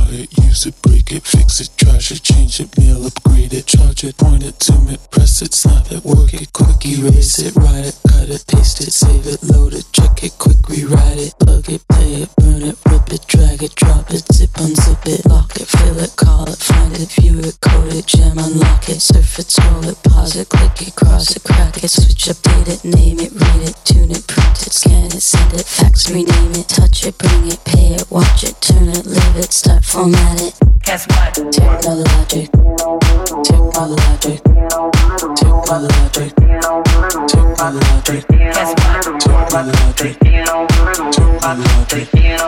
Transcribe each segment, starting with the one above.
it, use it, break it, fix it, trash it, change it, mail, upgrade it, charge it, point it, zoom it, press it, snap it, work it, quick, erase it, write it, cut it, paste it, save it, load it, check it, quick, rewrite it, plug it, play it, burn it, rip it, drag it, drop it, zip, unzip it, lock it, fill it, call it, find it, view it, code it, jam, unlock it, surf it, scroll it, pause it, click it, cross it, crack it, switch, update it, name it, read it, tune it, print it, scan it, send it, fax, rename it, touch it, bring it, pay it, watch it, turn it, leave it, start, format it. Guess what? Technologic, technologic, technologic, technologic. Guess what? Technologic, technologic,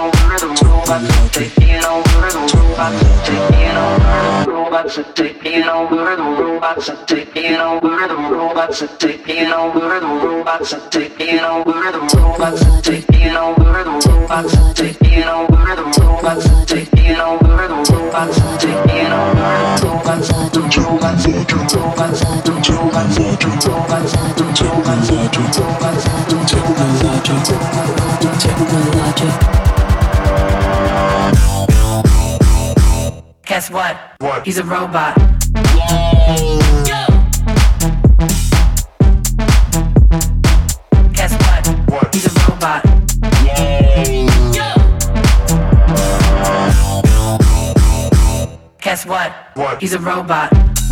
robots are taking over the robots are taking over the robots are taking over the robots are taking over the robots are taking over the robots are taking over the robots are taking over the robots are taking over the robots are the robots are the robots are the robots are the robots are the robots are the robots are the technologic. Guess what? What? He's a robot. Guess what? What? He's a robot. Guess what? What? He's a robot.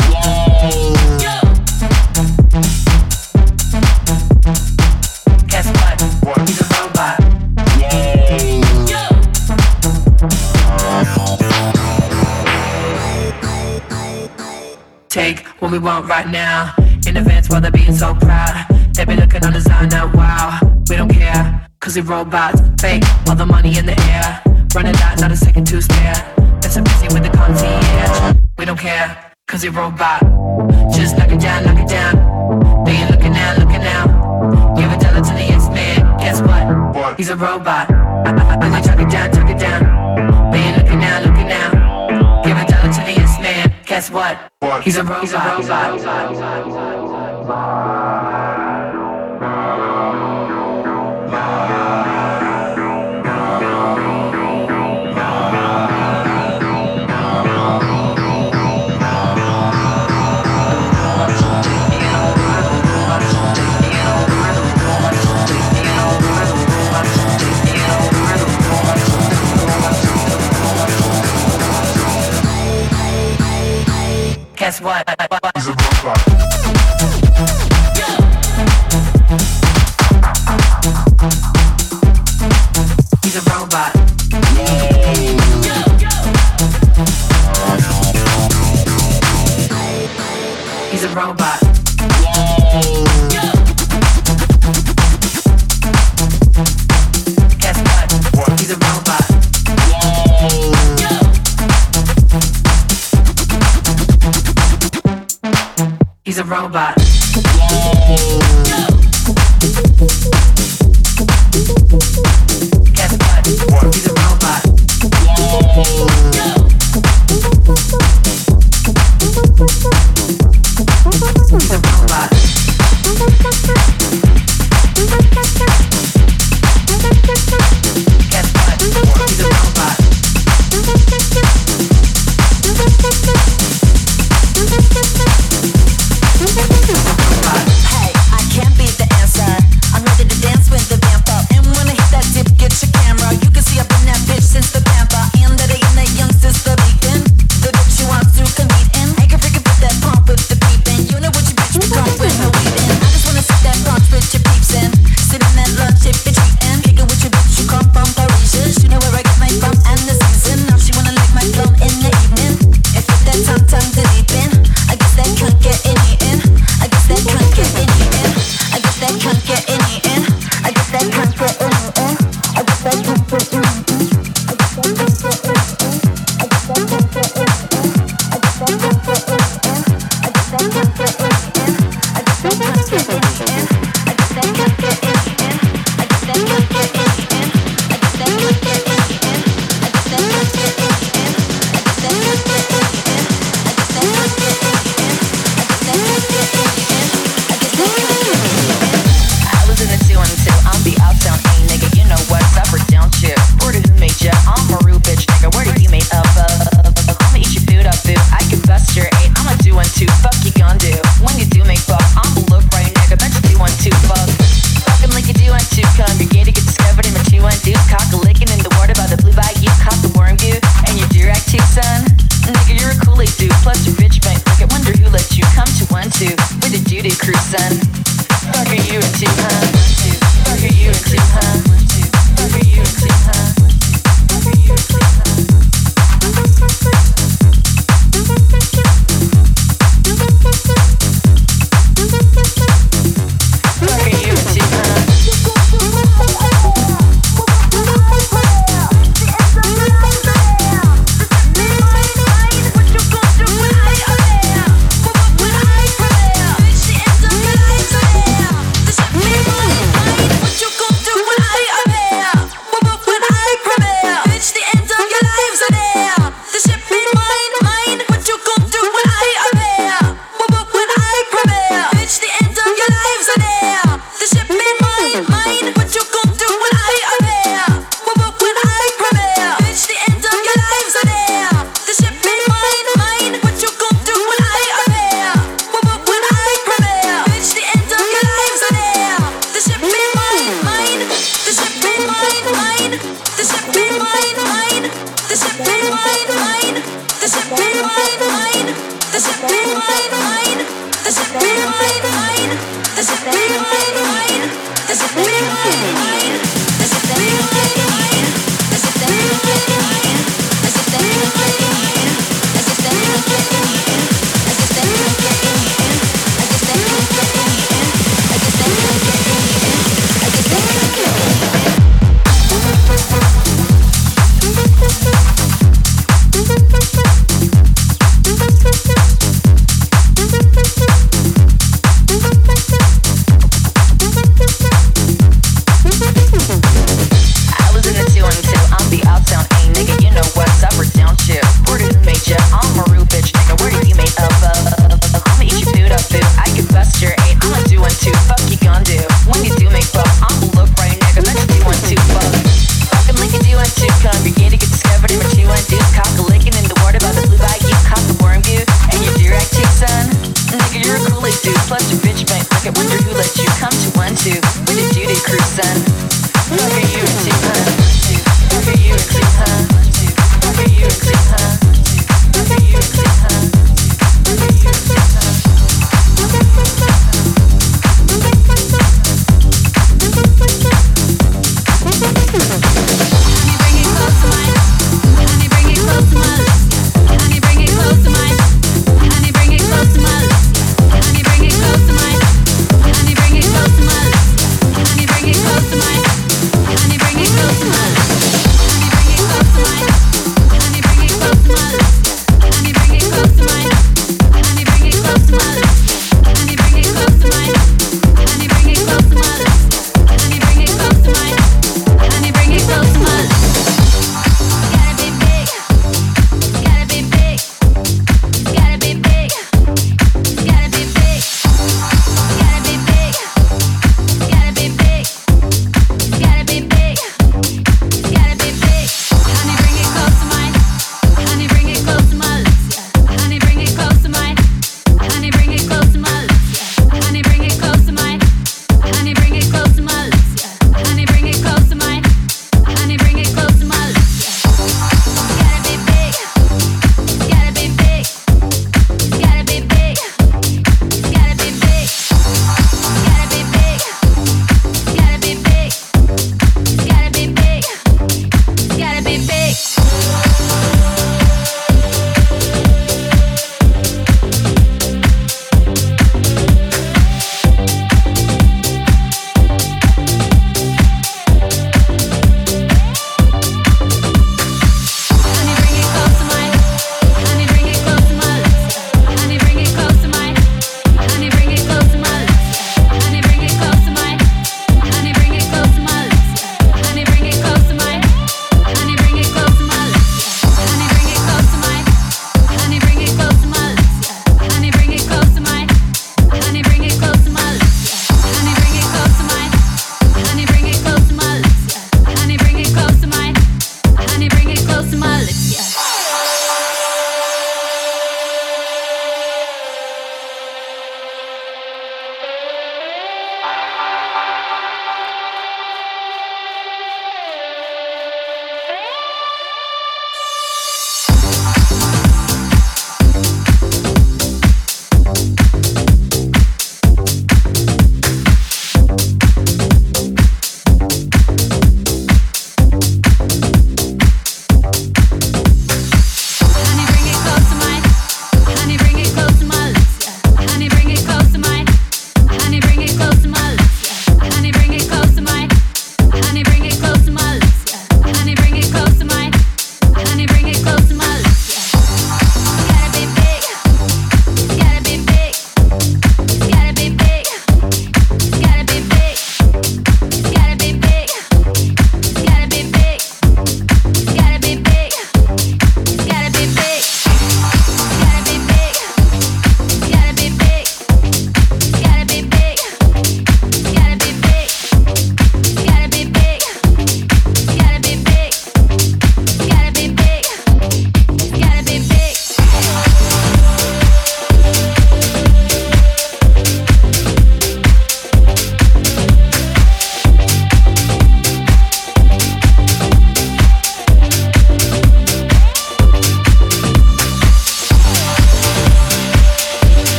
Guess what? What? He's a robot. Take what we want right now. In advance while they're being so proud. They be looking on design now, wow. We don't care, cause we robots. Fake, all the money in the air. Running out, not a second to spare. They're so busy with the concierge. We don't care, cause we robot. Just knock it down, knock it down. They ain't looking now, looking now. Give a dollar to the X-Man. Guess what? What? He's a robot. And they chuck it down, chuck it down. They ain't looking now, looking now. Give a dollar to the X-Man. Guess what? What? He's a robot. He's a robot. Guess what? He's a robot. He's a robot. He's a robot. Guess what? He's a robot. He's a robot. Guess what? He's a robot. He's a robot. Guess what? He's a robot. Hey, I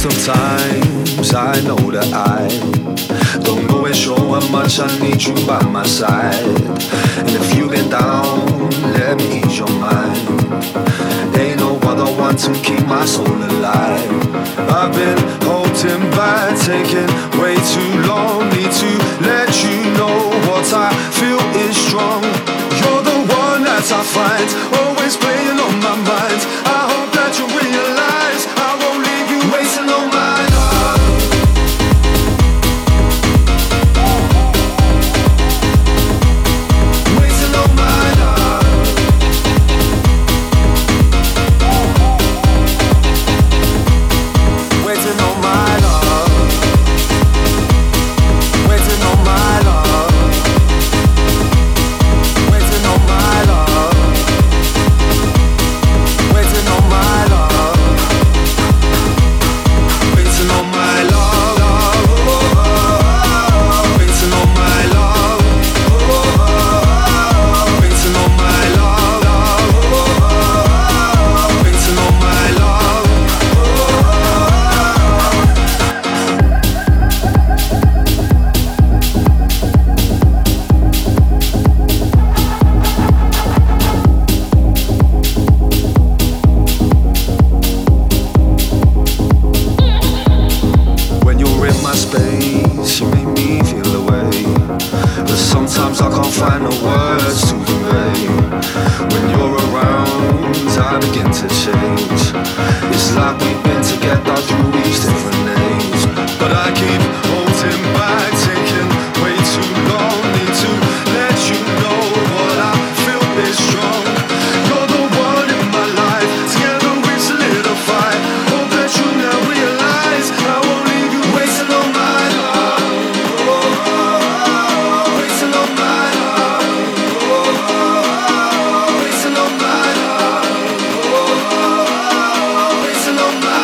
Sometimes I know that I don't always show how much I need you by my side. And if you've been down, let me ease your mind. Ain't no other one to keep my soul alive. I've been holding back, taking way too long. Need to let you know what I feel is strong. You're the one that I find, always playing on my mind. I hope that you realize I won't leave you wasting on my love. Wasting on my love. Waiting on my love. Waiting on my love. Waiting on my love. Waiting on my love. Waiting on my love. Waiting on my love. Waiting on my love. Waiting on my love. When you're in my space, you make me feel away. But sometimes I can't find the words to convey. When you're around, I begin to change. It's like we've been together through each different names. But I keep holding back, taking way too long. Need to let you know what I feel is strong. You're the one in my life, together we solidify. Hope that you now realize I won't leave you wasting on my love. Wasting on my love. Wasting on my love. Wasting on my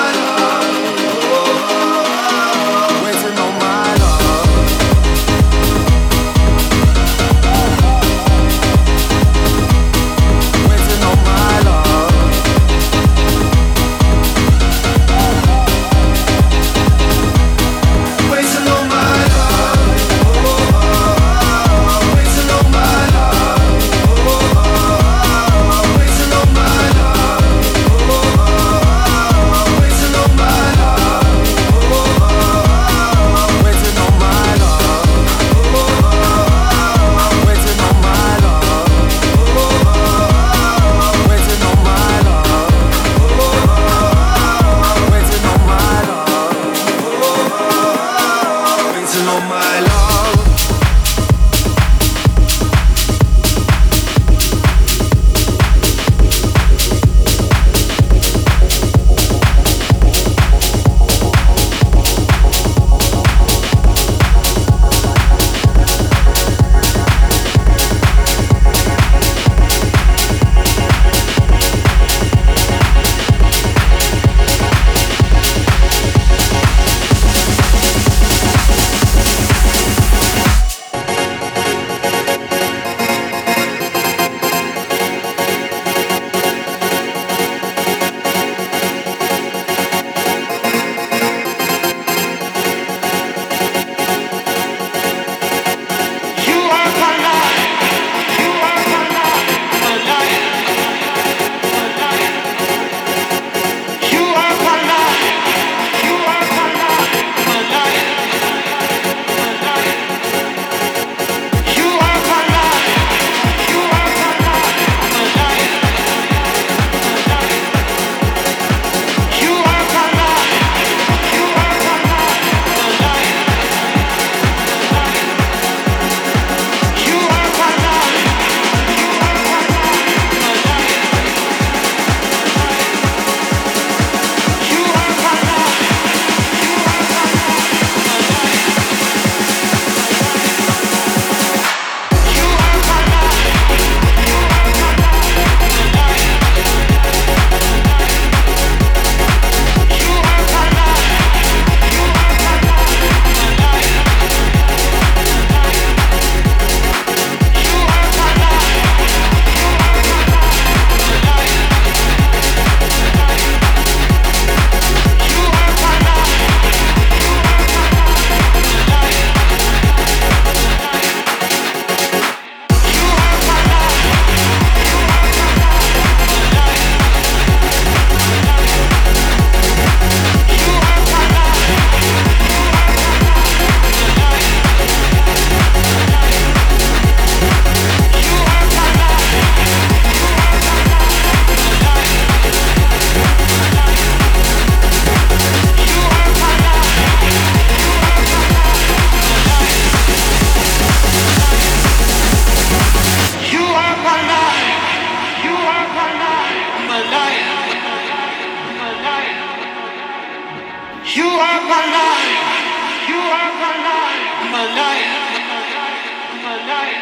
You are my life. You are my life. My life. My life.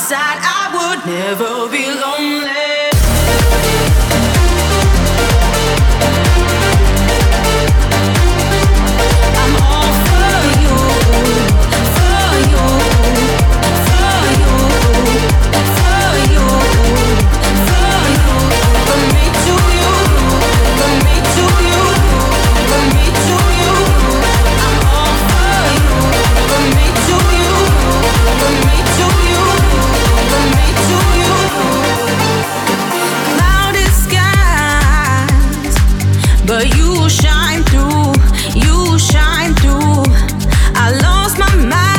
side, I would never be lonely. But you shine through, you shine through. I lost my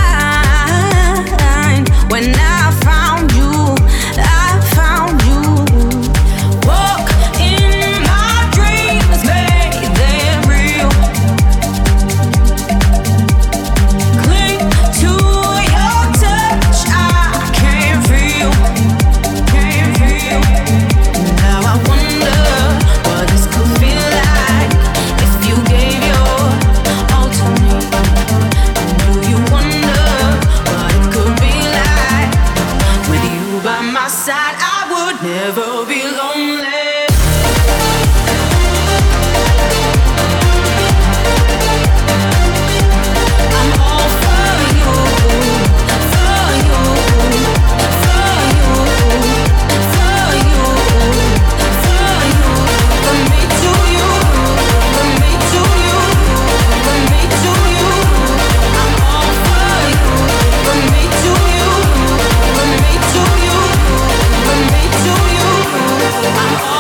mind when I found you, I found you. Walk in my dreams, made them real. Cling to your touch, I can feel, can feel. Now I wonder what this could feel like. If you gave your all to me, do you wonder what it could be like? With you by my side, I would never be lonely. I'm all for you, for you, for you, for you, for you. From me to you, from me to you, from me to you. I'm all for you. From me to you, from me to you, from me to you. I'm all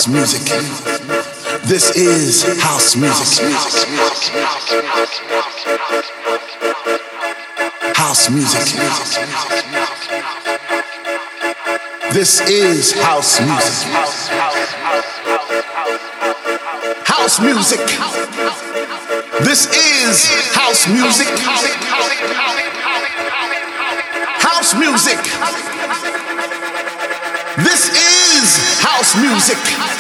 house music. This is house music. House music. This is house music. House music. This is house music. House music. This is house music.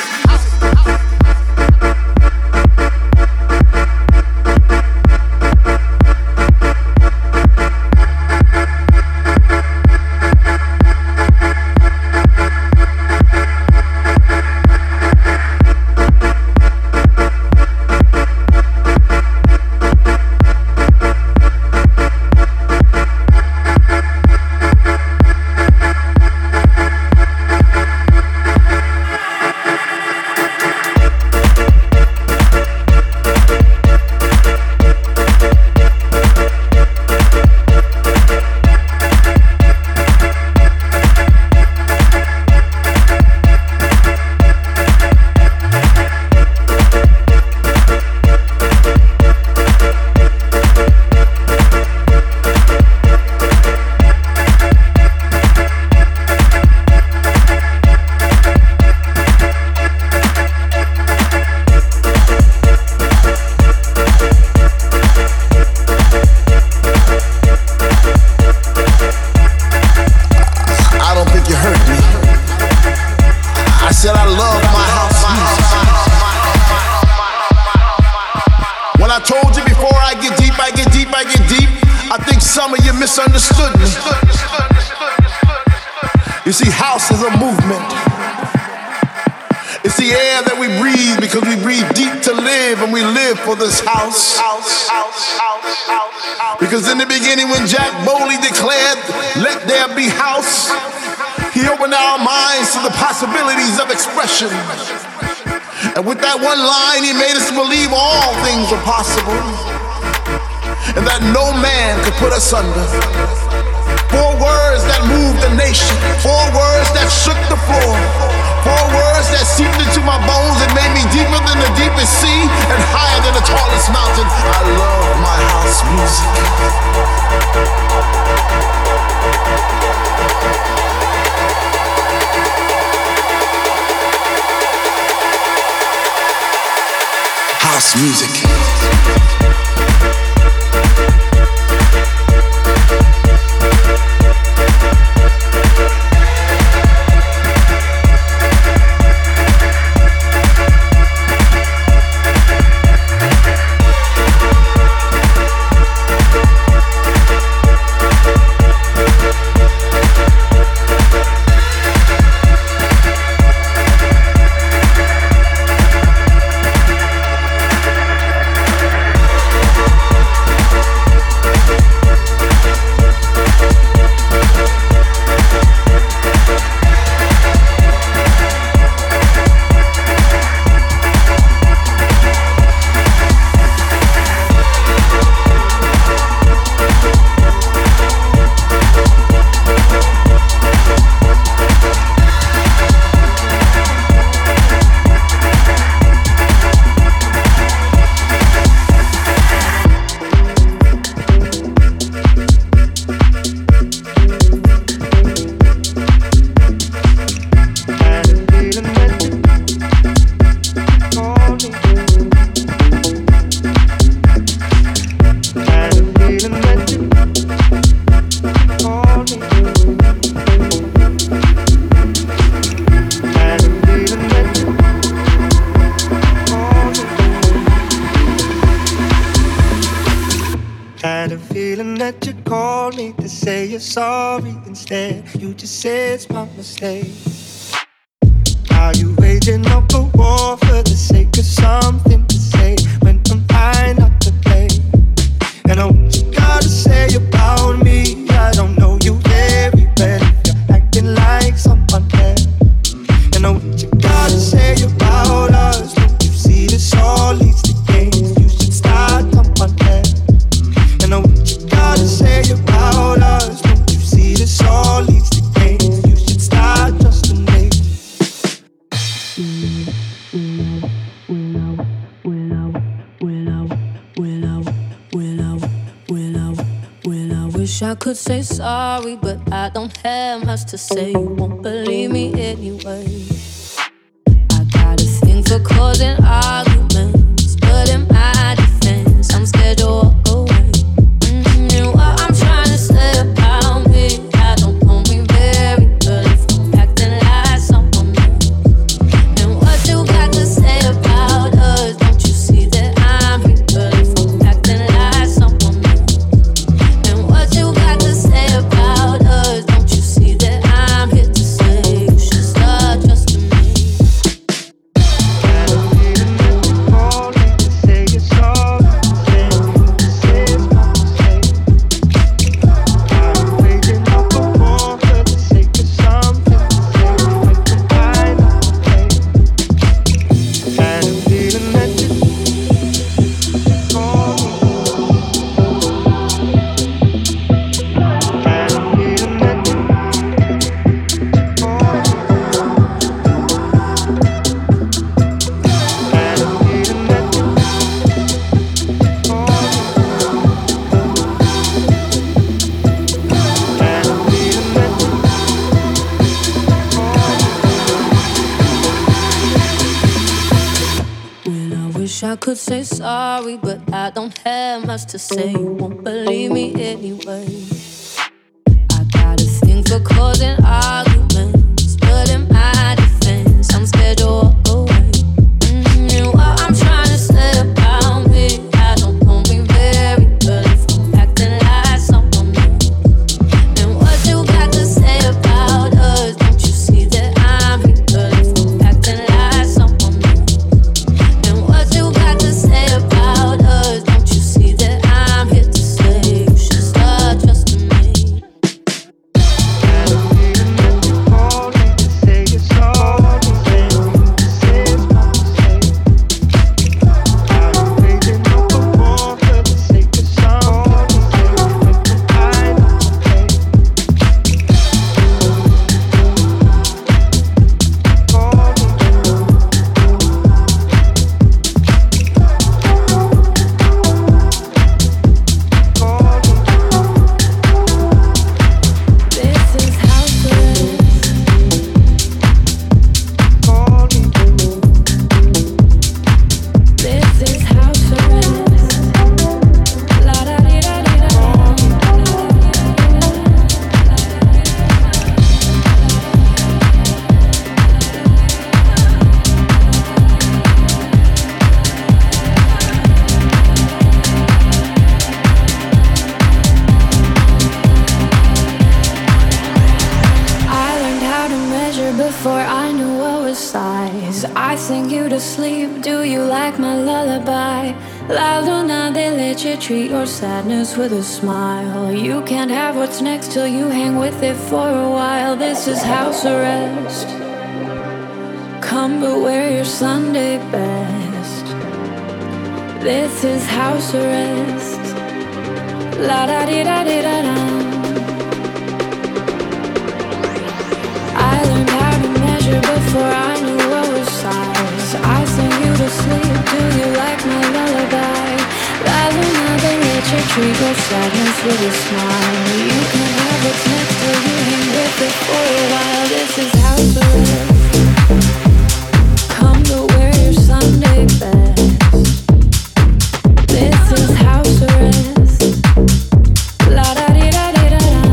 Misunderstood me. You see, house is a movement. It's the air that we breathe because we breathe deep to live, and we live for this house. Because in the beginning, when Jack Bowley declared, "Let there be house," he opened our minds to the possibilities of expression. And with that one line, he made us believe all things are possible, and that no man could put us under. 4 words that moved the nation, 4 words that shook the floor, 4 words that seeped into my bones and made me deeper than the deepest sea and higher than the tallest mountain. I love my house music. House music. Sorry, instead you just say it's my mistake. Are you waging up a war for the sake of something to say when I'm high not to play? And I what you gotta say about me, I don't know you very well if you're acting like someone else. And I what you gotta say about us, don't you see this all leads to games? You should start someone else. And I what you gotta say about us, this all leads to games. You should start just a name. wish I could say sorry, but I don't have much to say. You won't believe me anyway. I got a thing for causing arguments, but in my defense, I'm scared to walk away. And what I'm trying to say about me, I don't know me very well if I'm acting like someone else. And what you got to say about us, don't you see that I'm here? But if I'm acting like someone else. And what you got to say about us, don't you see that I'm here to say you should start trusting me. I could say sorry, but I don't have much to say. You won't believe me anyway. I got a thing for causing arguments, but in my defense, I'm scared to walk away. And what I'm trying to say about me, I don't know me very well if I'm acting like someone else. And what you got to say about us, don't you see that I'm here? But if I'm acting like someone else. And what you got to say about us, don't you see that I'm here to say you should start trusting me. Before I knew what was size, I sing you to sleep. Do you like my lullaby? La Luna, they let you treat your sadness with a smile. You can't have what's next till you hang with it for a while. This is house arrest. Come but wear your Sunday best. This is house arrest. La da di da di da da. I learned how to measure before I knew what was size. I sing you to sleep. Do you like my lullaby? La Luna, they let you treat your sadness with a smile. You can have what's next till you hang with it for a while. This is house arrest. Come but wear your Sunday best. This is house arrest. La da di da di da da.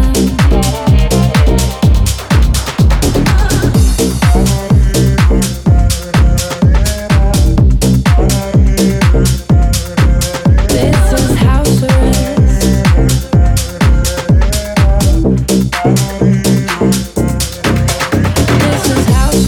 This is house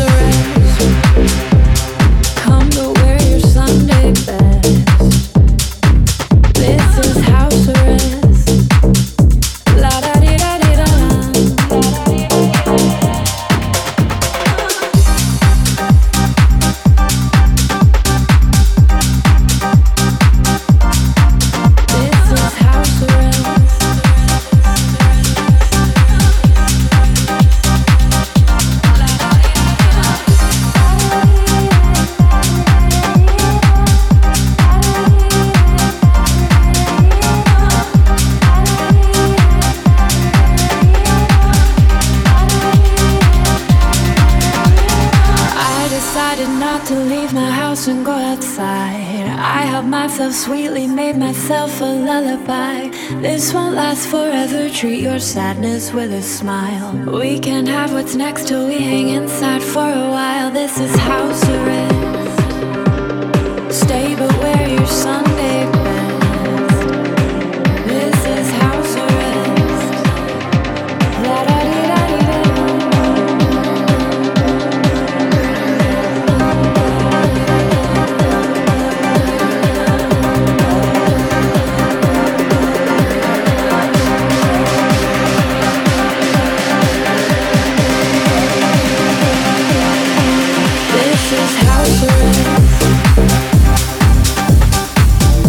myself sweetly, made myself a lullaby. This won't last forever, treat your sadness with a smile. We can have what's next till we hang inside for a while. This is house arrest. Stay but wear your Sunday best. This is house arrest. La-da-dee-da-dee-da. This is house arrest.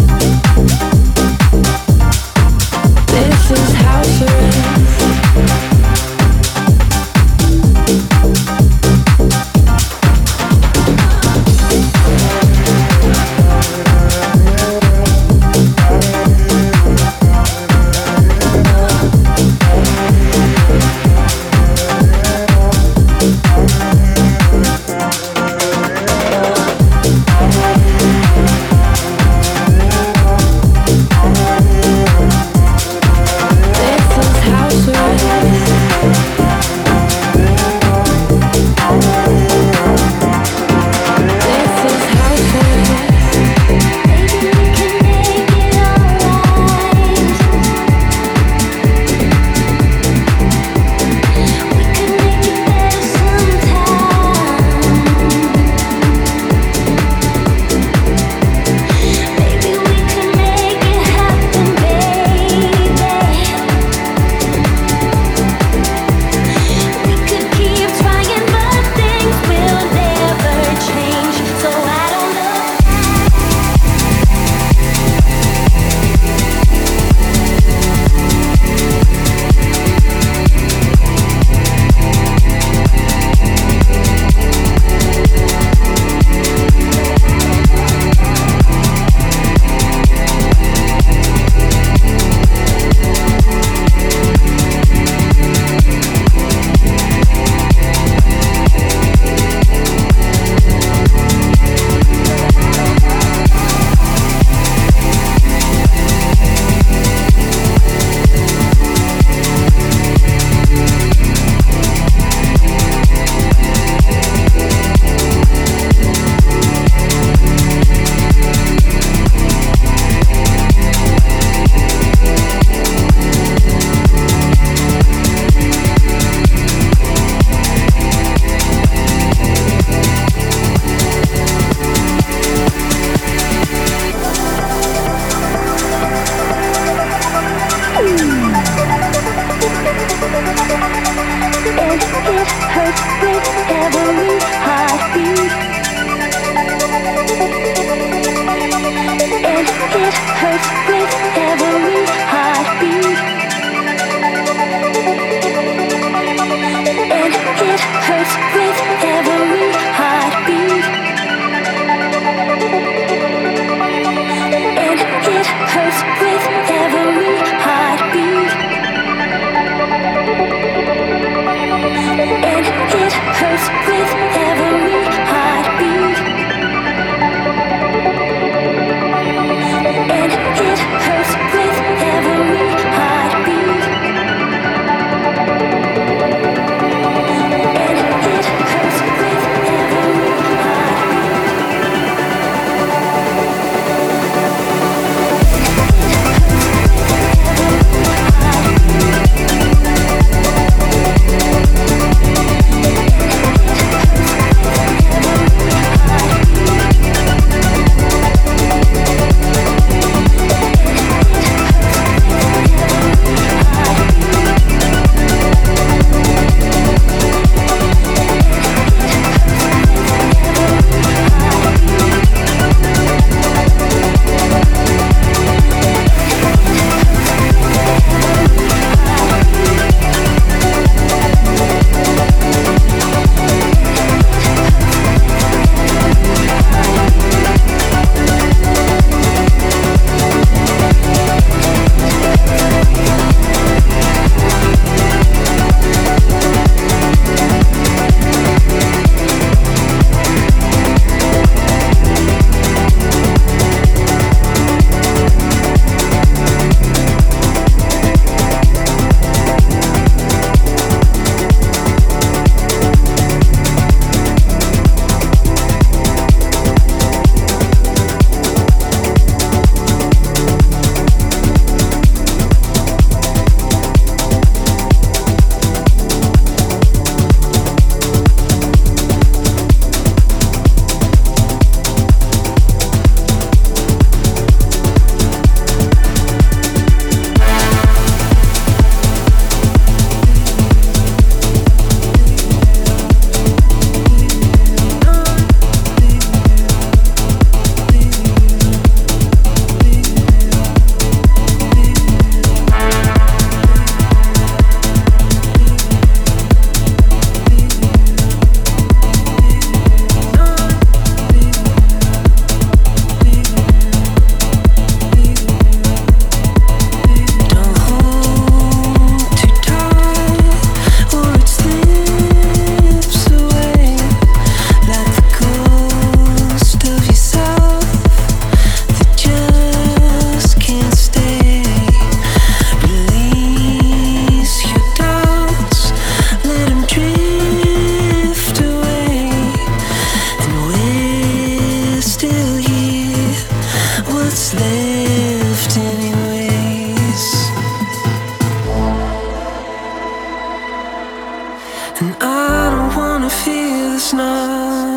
wanna feel the snow.